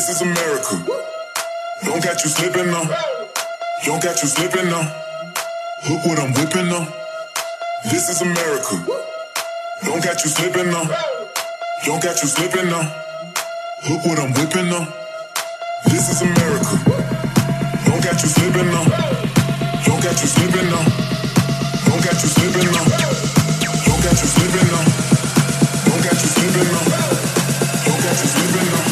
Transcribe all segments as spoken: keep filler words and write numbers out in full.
This is America. Don't catch you slipping now. Don't catch you slipping now. Look what I'm whipping now. This is America. Don't catch you slipping now. Don't catch you slipping now. Look what I'm whipping now. This is America. Don't catch you slipping now. Don't catch you slipping now. Don't catch you slipping now. Don't catch you slipping now. Don't catch you slipping now. Don't catch you slipping now.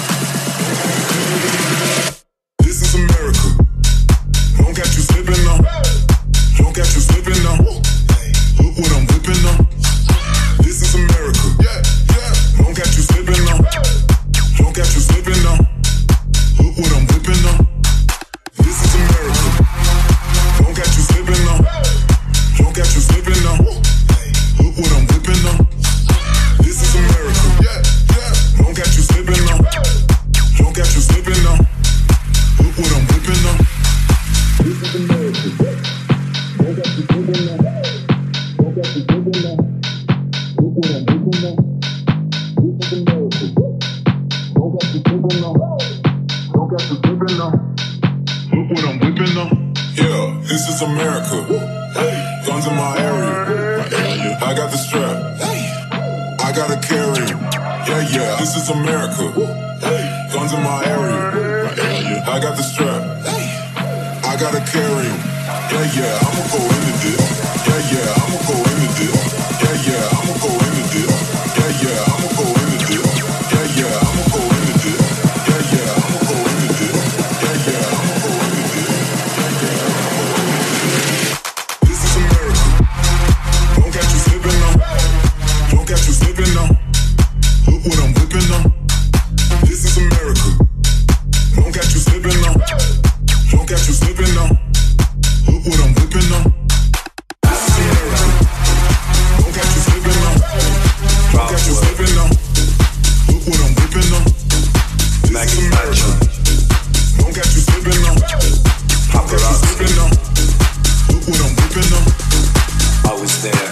This is America. Don't catch you slipping now. Don't catch you slipping now. Look what I'm whipping now. This is America. Don't catch you slipping now. Don't catch you slipping now. Look what I'm whipping now. This is America. Don't catch you slipping now. Don't catch you slipping now. Look what I'm whipping now. This is America. Don't catch you slipping now. Don't catch you slipping now. Look what I'm whipping now. This is America. Don't catch you slipping now. Don't catch you slipping now. Look what I'm whipping now. This is America. Don't catch you slipping now. Don't catch you slipping now. Look what I'm whipping now. Yeah, this is America. Guns in my area. I got the strap. I gotta carry. Yeah, yeah, this is America. Guns in my area. I got the strap. I gotta carry. Yeah, yeah, I'ma go into this. Yeah, yeah, I'ma go into this. Yeah, yeah, I'ma go into this. Yeah, yeah, I'ma go into this. Yeah, yeah, I'ma go into this. Yeah, yeah, I'ma go into this. Yeah, yeah, I'ma go into this. Yeah, yeah, I'ma go into this. This is America. Don't catch you slipping now. Don't catch you slipping now. Look what I'm whipping now. This is America. Don't catch you slipping now. Don't catch you slipping now. Look what I'm whipping now. This is America. Don't catch you slipping now. Don't catch you slipping now. Look what I'm whipping now. This is America. Don't catch you slipping now. Don't catch you slipping now. Look what I'm whipping now. I was there.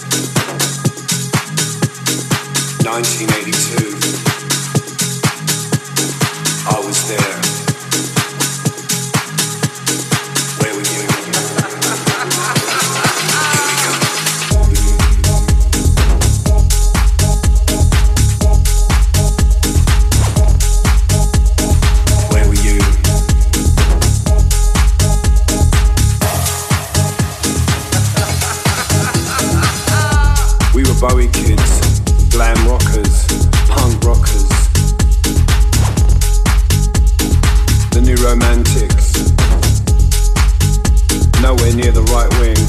nineteen eighty-two. I was there. Where were you? Where were you? We were Bowie kids, glam rockers, punk rockers, the new romantics, nowhere near the right wing.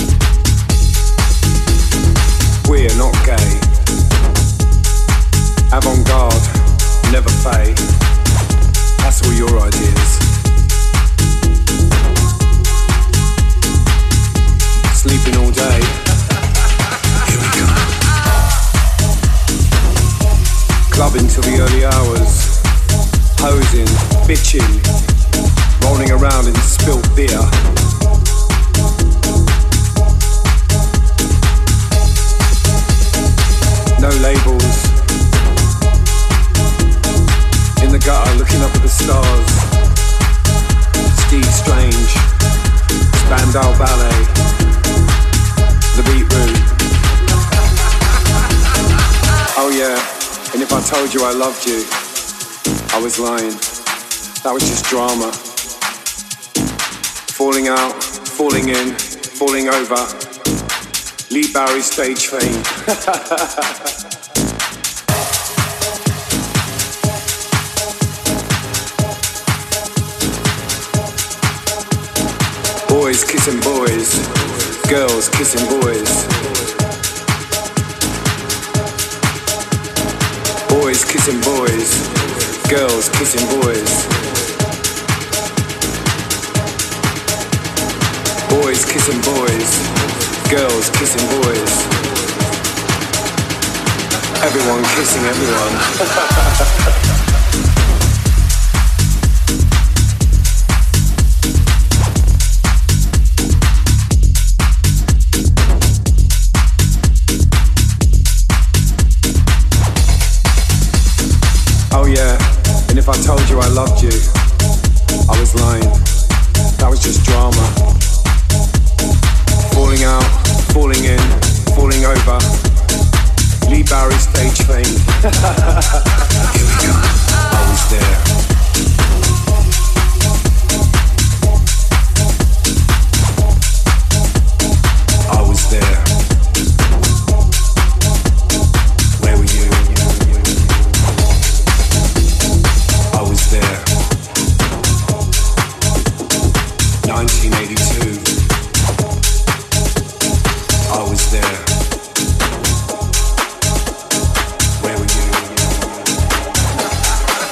We're not gay, avant-garde, never fade. That's all your ideas. Sleeping all day. Here we go. Clubbing till the early hours, posing, bitching, rolling around in spilt beer. No labels. In the gutter, looking up at the stars. Steve Strange, Spandau Ballet, the Beat Route. Oh yeah. And if I told you I loved you, I was lying. That was just drama. Falling out, falling in, falling over. Lee Barry stage fame. Boys kissing boys, girls kissing boys. Boys kissing boys, girls kissing boys. Boys kissing boys, girls kissing boys. Everyone kissing everyone. told you I loved you, I was lying. That was just drama. Falling out, falling in, falling over. Lee Barry stage fame. Here we go. I was there. I was there. Where were you? I was there. nineteen eighty-two. I was there. Where were you?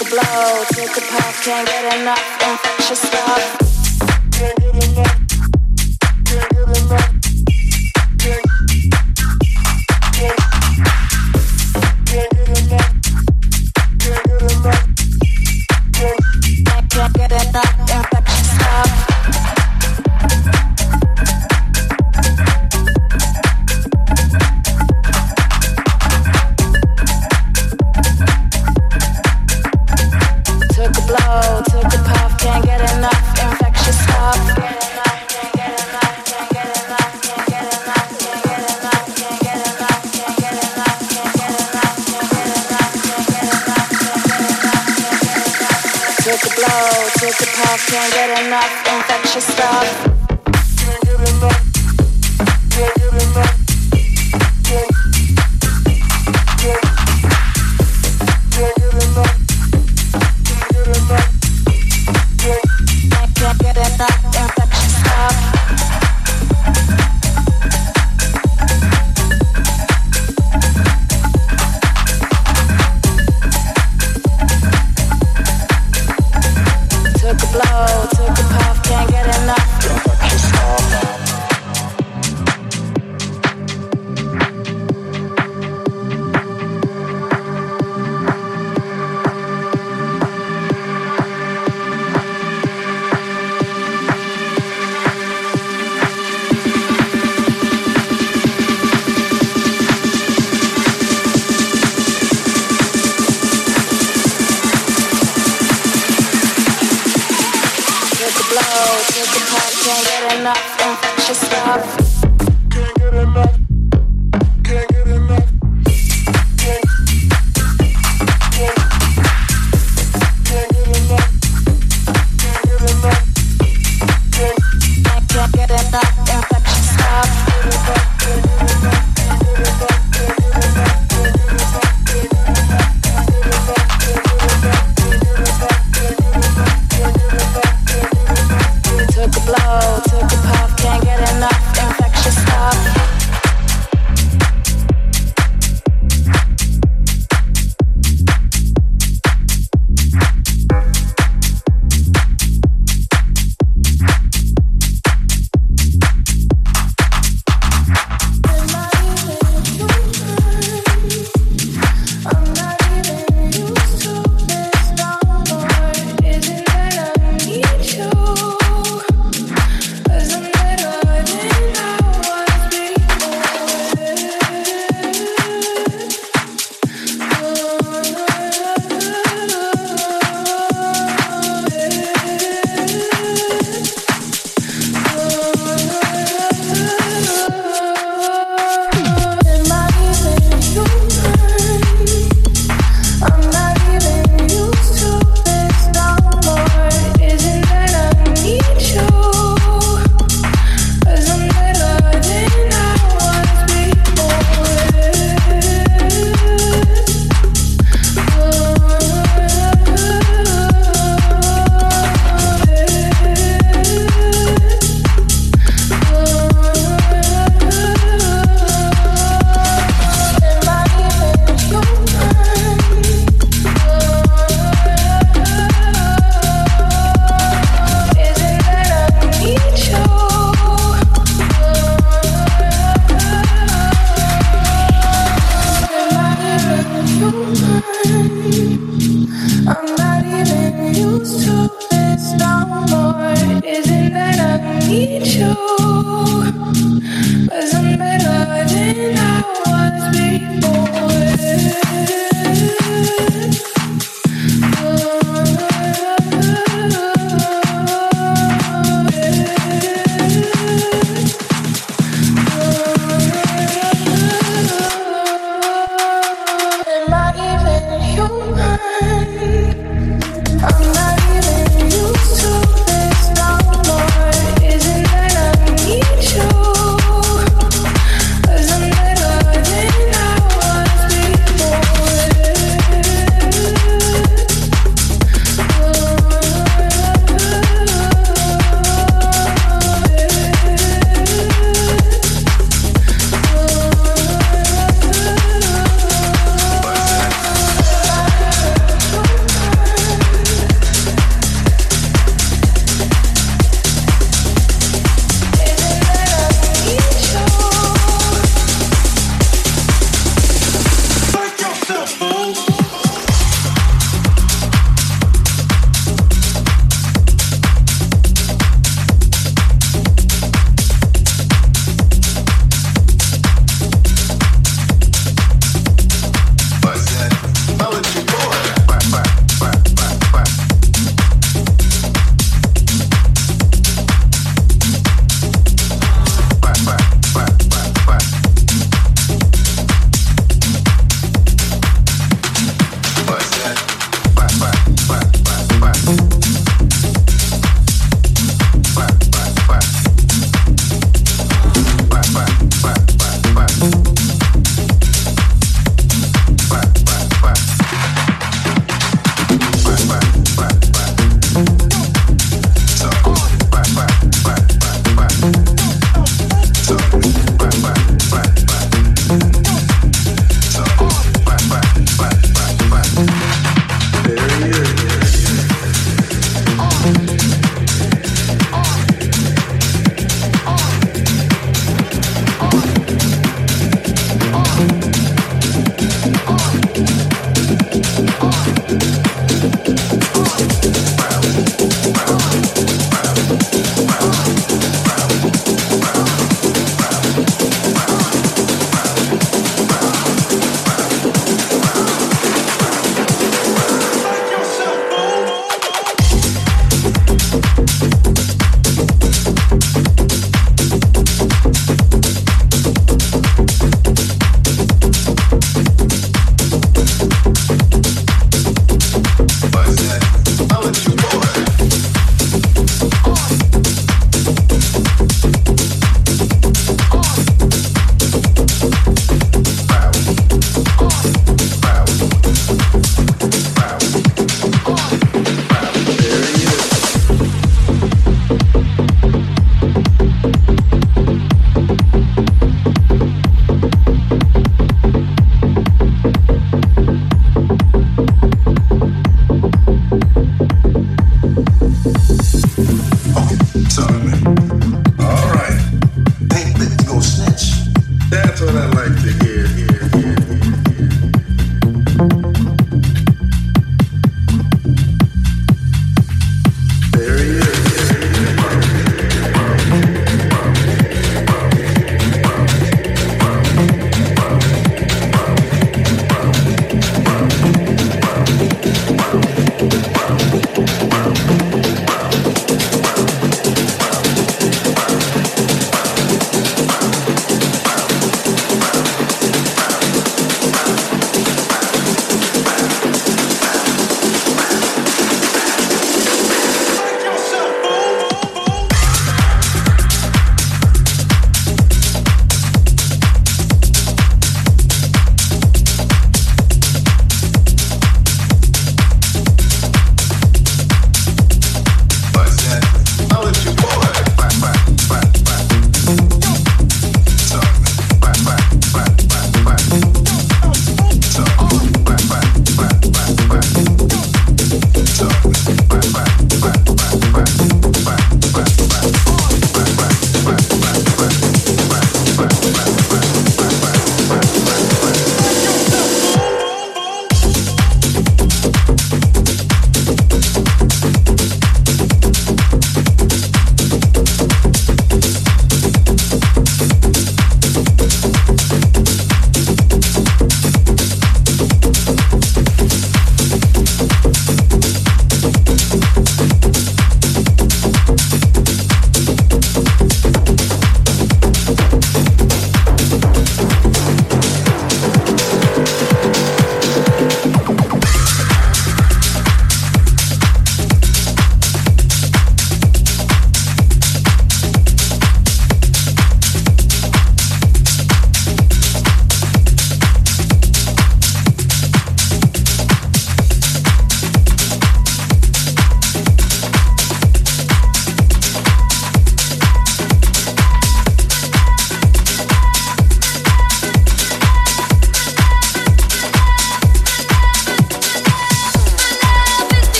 Took a blow, took a puff, can't get enough, infectious stuff. Can't get enough, can't get enough, can't, can't, can't get enough, can't get enough, can't, can't get enough, infectious stuff. Took a blow, took a puff, can't get enough, infectious stuff. Took a blow, took a puff, can't get enough, infectious stuff. can't get enough, can't get enough, can't, can't, can't get enough, can't get enough, can't, Can't get enough, infectious stuff. Took a blow, took a puff, can't get enough, infectious stuff. Took a puff, can't get enough, infectious stuff. can't get enough, can't get enough, can't, can't, can't get enough, can't get enough, can't, Can't get enough, infectious stuff. Took a blow, took a puff, can't get enough, infectious stuff. Isn't that I need you? 'Cause I'm better than I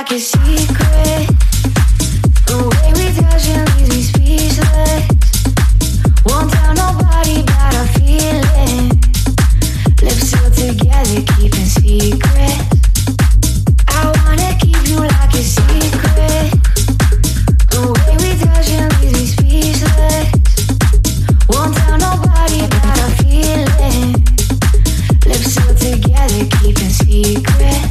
like a secret. The way we touch and leaves me speechless. Won't tell nobody about our feelings. Lips sealed together, keeping secrets. I wanna keep you like a secret. The way we touch and leaves me speechless. Won't tell nobody about our feelings. Lips sealed together, keeping secrets.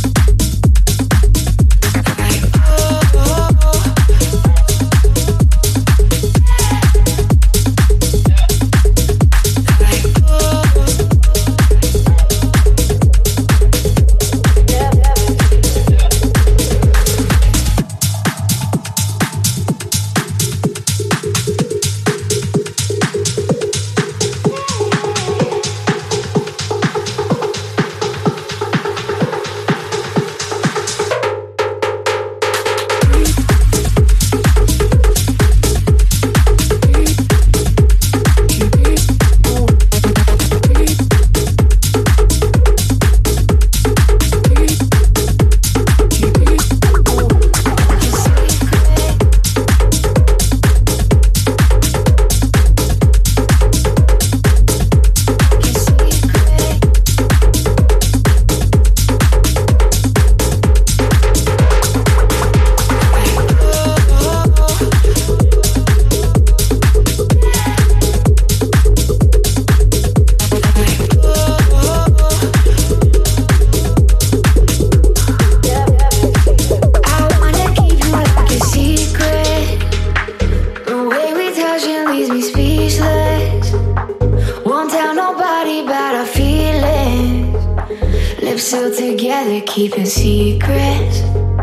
Keeping secrets.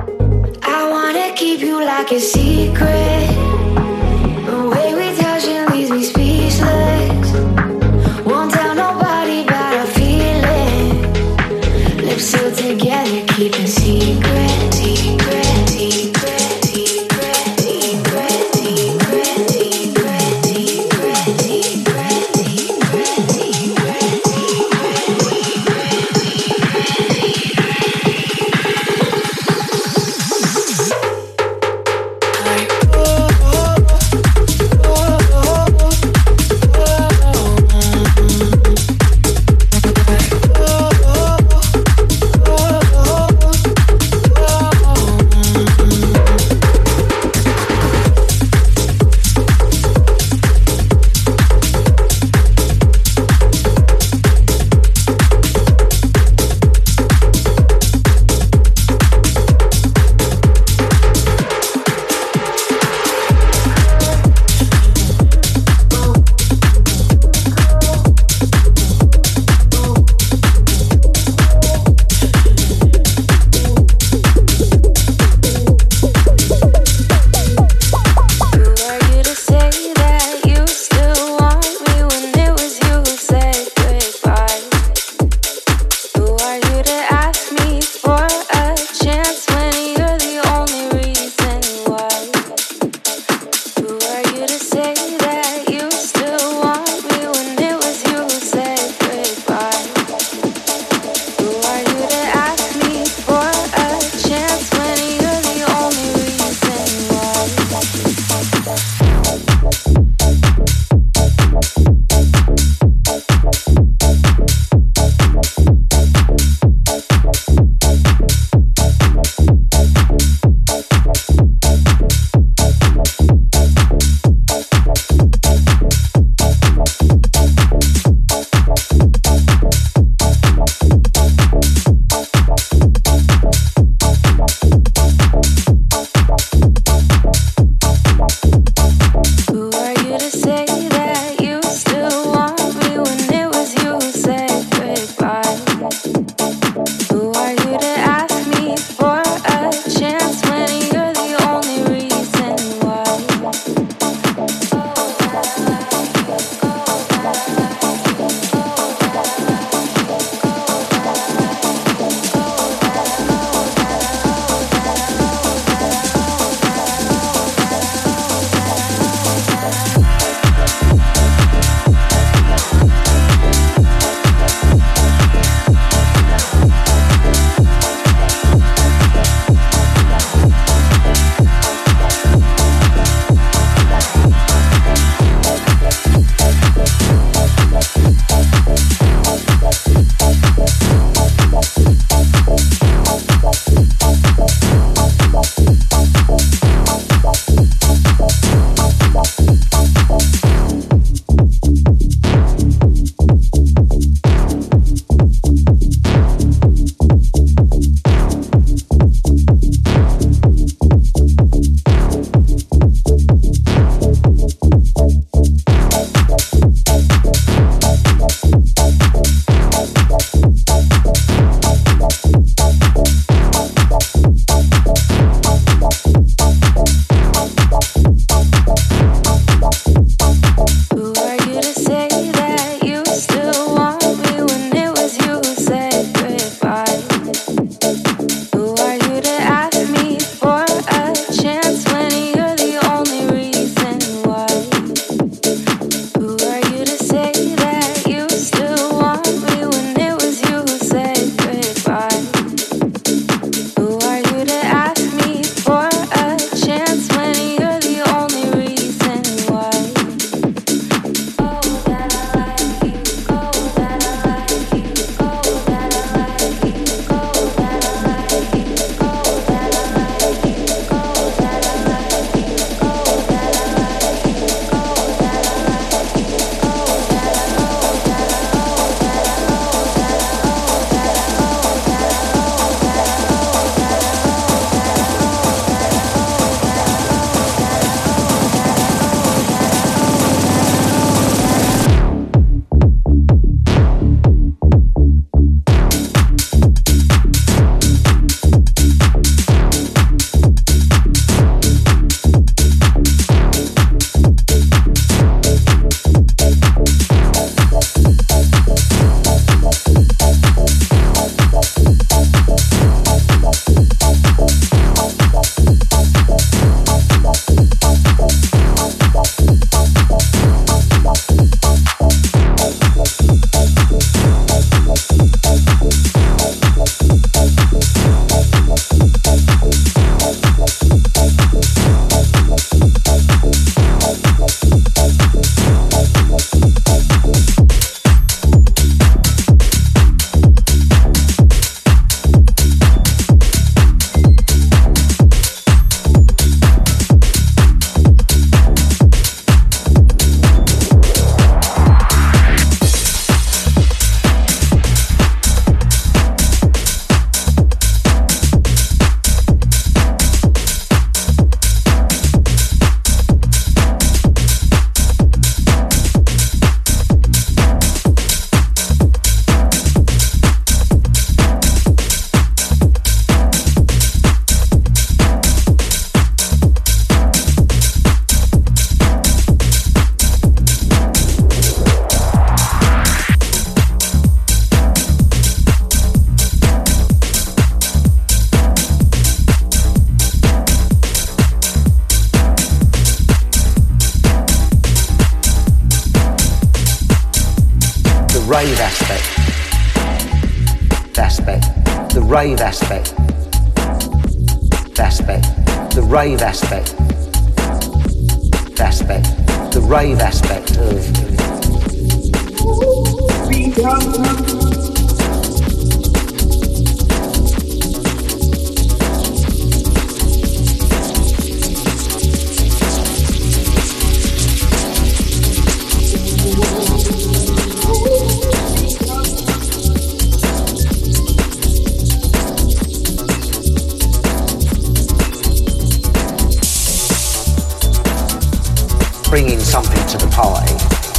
I wanna keep you like a secret. The way we touch and leaves me speechless. Won't tell nobody about our feelings. Lips sealed together, keeping secrets. Secret, secret, secret, secret, secret, secret, secret, secret, secret. rave aspect, aspect, the rave aspect, aspect, the rave aspect, aspect, the rave aspect of bringing something to the party.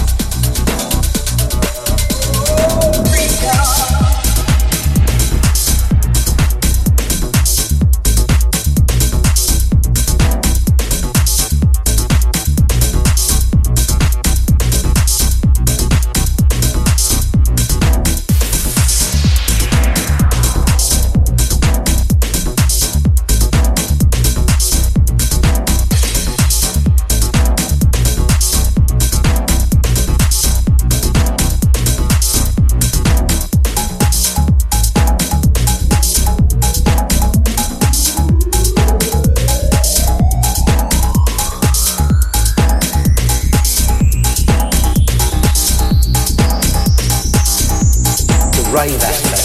Rave aspect.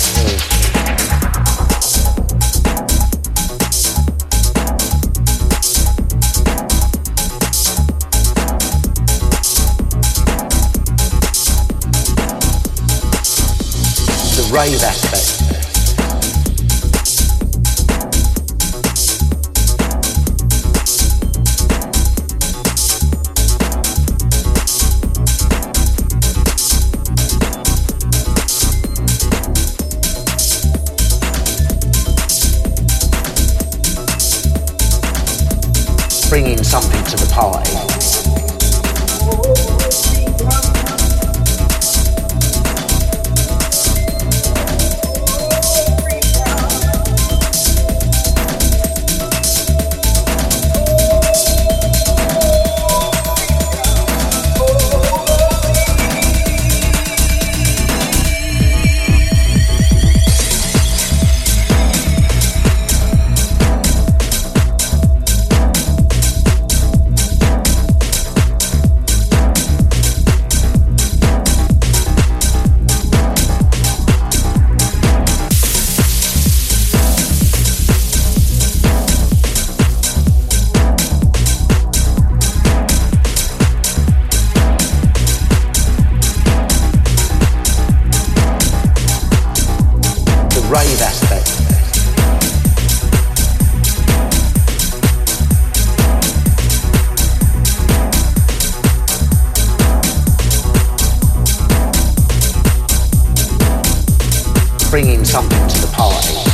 The rave aspect. Bringing something to the party. Rave aspect. Bringing something to the party.